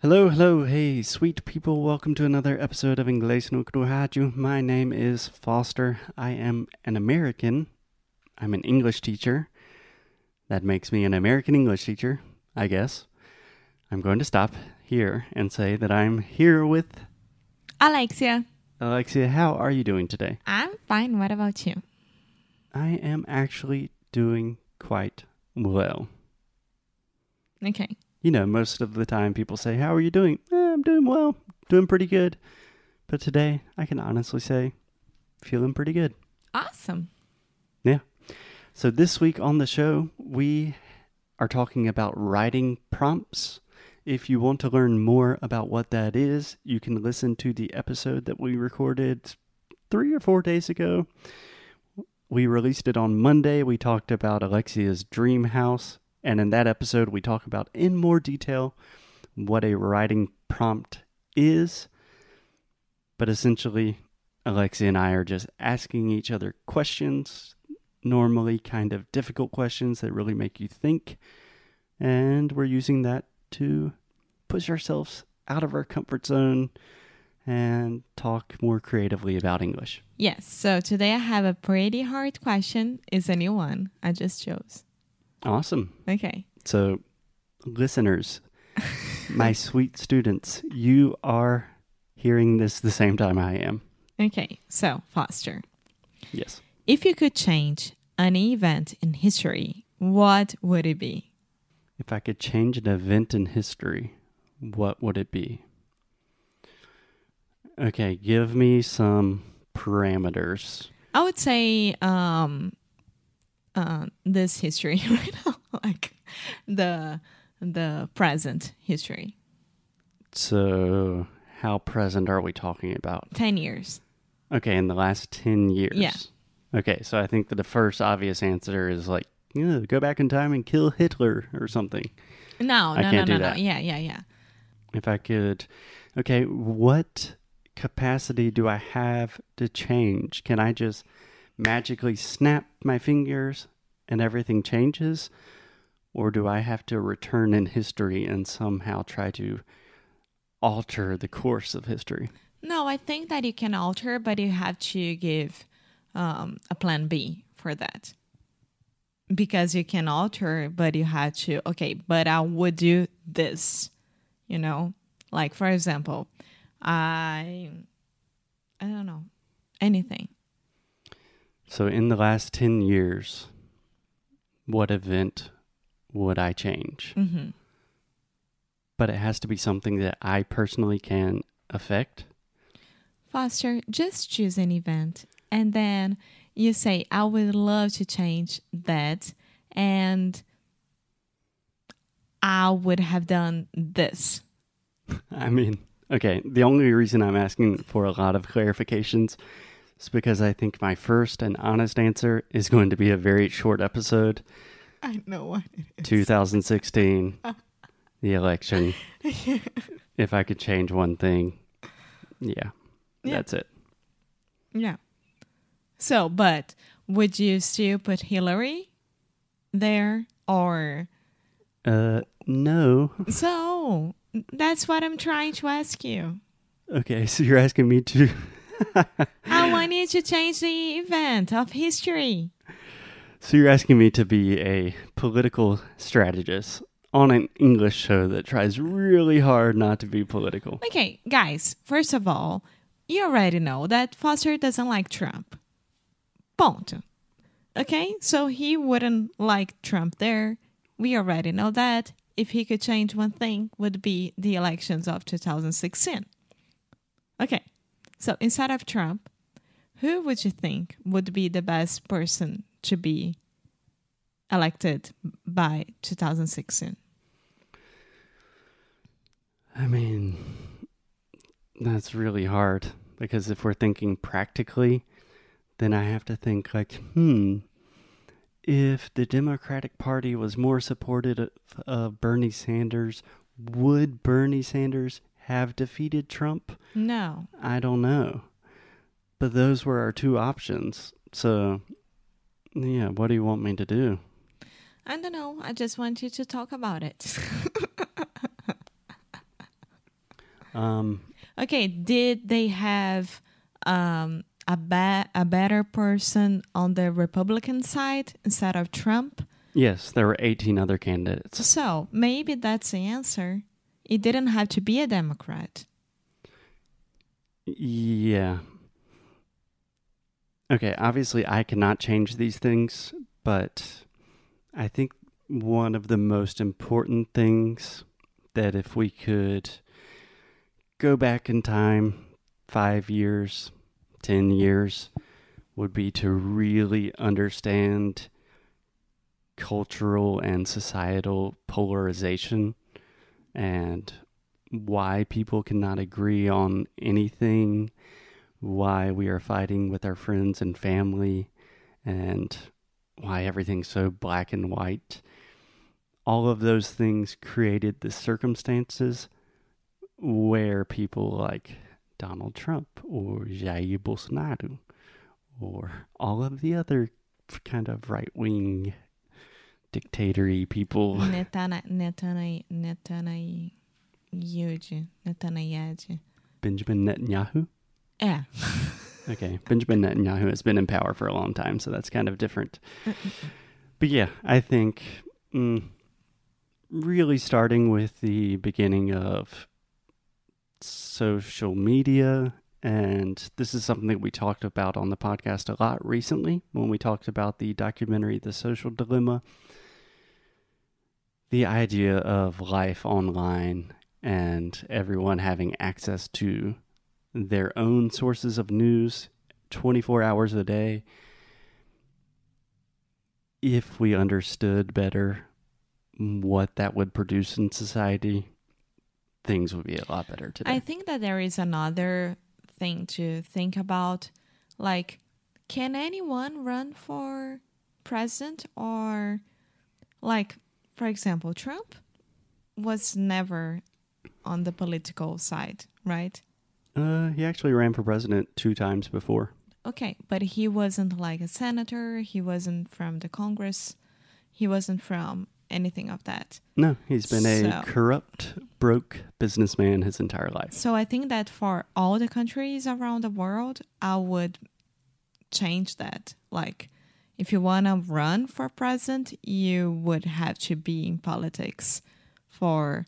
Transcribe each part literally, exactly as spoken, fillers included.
Hello, hello, hey, sweet people. Welcome to another episode of Inglês no Rádio. My name is Foster. I am an American. I'm an English teacher. That makes me an American English teacher, I guess. I'm going to stop here and say that I'm here with Alexia. Alexia. How are you doing today? I'm fine. What about you? I am actually doing quite well. Okay. You know, most of the time people say, how are you doing? Eh, I'm doing well, doing pretty good. But today, I can honestly say, feeling pretty good. Awesome. Yeah. So this week on the show, we are talking about writing prompts. If you want to learn more about what that is, you can listen to the episode that we recorded three or four days ago. We released it on Monday. We talked about Alexia's dream house. And in that episode, we talk about in more detail what a writing prompt is. But essentially, Alexia and I are just asking each other questions, normally kind of difficult questions that really make you think. And we're using that to push ourselves out of our comfort zone and talk more creatively about English. Yes. So today I have a pretty hard question. It's a new one I just chose. Awesome. Okay. So, listeners, my sweet students, you are hearing this the same time I am. Okay. So, Foster, Yes. if you could change an event in history, what would it be? If I could change an event in history, what would it be? Okay, give me some parameters. I would say um, uh, this history right now, like the the present history. So, how present are we talking about? Ten years. Okay, in the last ten years. Yeah. Okay, so I think that the first obvious answer is like, yeah, go back in time and kill Hitler or something. No, I no, can't no, do no, that. no. Yeah, yeah, yeah. If I could, okay, what capacity do I have to change? Can I just magically snap my fingers and everything changes? Or do I have to return in history and somehow try to alter the course of history? No, I think that you can alter, but you have to give um, a plan B for that. Because you can alter, but you have to, okay, but I would do this, you know? Like, for example, I, I don't know, anything. So in the last ten years, what event would I change? Mm-hmm. But it has to be something that I personally can affect. Foster, just choose an event and then you say, I would love to change that and I would have done this. I mean, okay, the only reason I'm asking for a lot of clarifications is because I think my first and honest answer is going to be a very short episode. I know what it is. twenty sixteen, the election. If I could change one thing, yeah, Yeah. that's it. Yeah. So, but would you still put Hillary there or... Uh, no. So, that's what I'm trying to ask you. Okay, so you're asking me to... I want you to change the event of history. So you're asking me to be a political strategist on an English show that tries really hard not to be political. Okay, guys, first of all, you already know that Foster doesn't like Trump. Ponto. Okay, so he wouldn't like Trump there. We already know that. If he could change one thing, would be the elections of two thousand sixteen. Okay, so instead of Trump, who would you think would be the best person to be elected by two thousand sixteen? I mean, that's really hard because if we're thinking practically, then I have to think like, hmm, if the Democratic Party was more supportive of uh, Bernie Sanders, would Bernie Sanders have defeated Trump? No. I don't know. But those were our two options. So, yeah, what do you want me to do? I don't know. I just want you to talk about it. Um, Okay, did they have um, a, ba- a better person on the Republican side instead of Trump? yes, there were eighteen other candidates. So maybe that's the answer. It didn't have to be a Democrat. Yeah. Okay, obviously I cannot change these things, but I think one of the most important things that if we could go back in time five years, ten years, would be to really understand cultural and societal polarization and why people cannot agree on anything, why we are fighting with our friends and family, and why everything's so black and white. All of those things created the circumstances where people like Donald Trump or Jair Bolsonaro or all of the other kind of right-wing dictatory people. Netana, Netana, Netana, Yuji, Netanyahu. Benjamin Netanyahu? Yeah. Okay, Benjamin Netanyahu has been in power for a long time, so that's kind of different. But yeah, I think mm, really starting with the beginning of social media, and this is something that we talked about on the podcast a lot recently when we talked about the documentary The Social Dilemma. The idea of life online and everyone having access to their own sources of news twenty-four hours a day. If we understood better what that would produce in society, things would be a lot better today. I think that there is another thing to think about. Like, can anyone run for president? Or, like, for example, Trump was never on the political side, right? Uh, he actually ran for president two times before. Okay, but he wasn't like a senator. He wasn't from the Congress. He wasn't from anything of that. No, he's been a So- corrupt, broke businessman his entire life. So I think that for all the countries around the world, I would change that. Like, if you want to run for president, you would have to be in politics for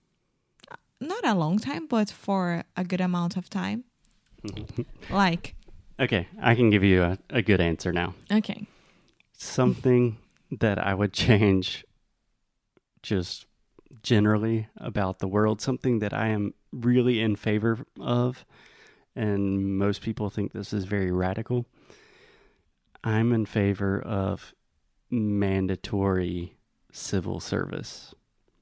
not a long time, but for a good amount of time. Like, Okay, I can give you a, a good answer now. okay. Something that I would change just generally about the world, something that I am really in favor of, and most people think this is very radical. I'm in favor of mandatory civil service.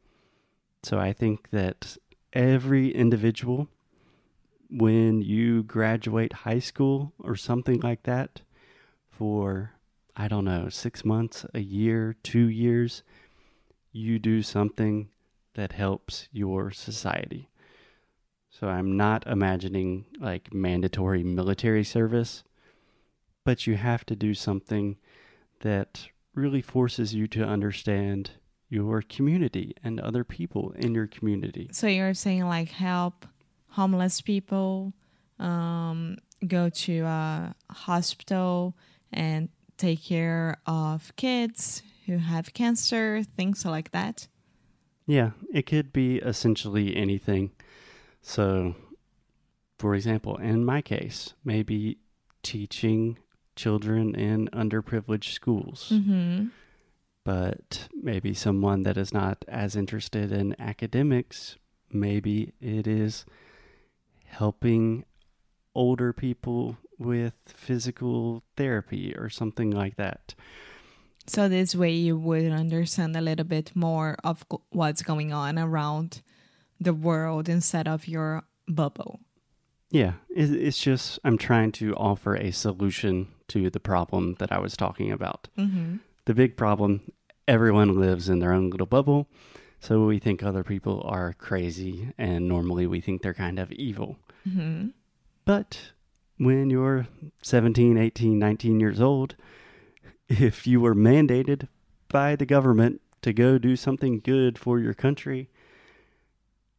So I think that every individual, when you graduate high school or something like that, for, I don't know, six months, a year, two years, you do something that helps your society. So I'm not imagining like mandatory military service, but you have to do something that really forces you to understand your community and other people in your community. So you're saying like help homeless people, um, go to a hospital and take care of kids who have cancer, things like that? Yeah, it could be essentially anything. So, for example, in my case, maybe teaching children in underprivileged schools. Mm-hmm. But maybe someone that is not as interested in academics, maybe it is helping older people with physical therapy or something like that. So this way you would understand a little bit more of go- what's going on around the world instead of your bubble. Yeah, it, it's just I'm trying to offer a solution to the problem that I was talking about. Mm-hmm. The big problem, everyone lives in their own little bubble, so we think other people are crazy, and normally we think they're kind of evil. Mm-hmm. But when you're seventeen, eighteen, nineteen years old, if you were mandated by the government to go do something good for your country,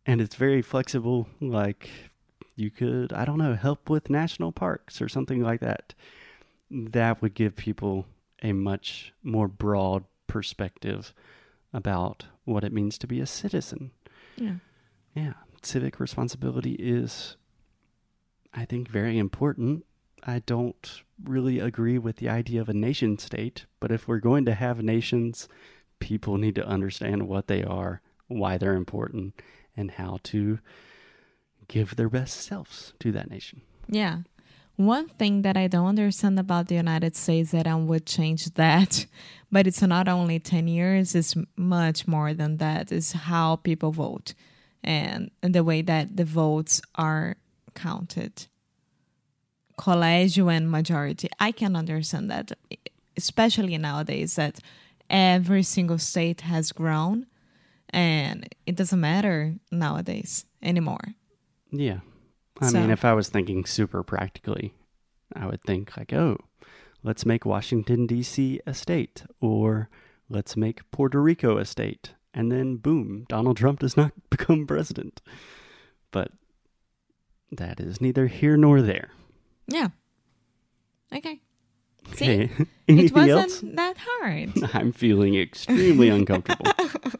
And it's very flexible. Like you could, I don't know, help with national parks or something like that. That would give people a much more broad perspective about what it means to be a citizen. Yeah. Yeah. Civic responsibility is, I think, very important. I don't really agree with the idea of a nation state, but if we're going to have nations, people need to understand what they are, why they're important, and how to give their best selves to that nation. Yeah. One thing that I don't understand about the United States that I would change that, but it's not only ten years, it's much more than that, is how people vote and, and the way that the votes are counted. Collegio and majority. I can understand that, especially nowadays that every single state has grown and it doesn't matter nowadays anymore. Yeah. I So- mean, if I was thinking super practically, I would think like, oh, let's make Washington, D C a state, or let's make Puerto Rico a state. And then boom, Donald Trump does not become president. But that is neither here nor there. Yeah. Okay. See? Okay. It Anything wasn't else? that hard. I'm feeling extremely uncomfortable.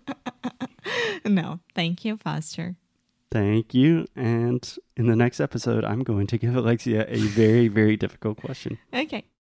No, thank you, Foster. Thank you. And in the next episode, I'm going to give Alexia a very, very difficult question. Okay.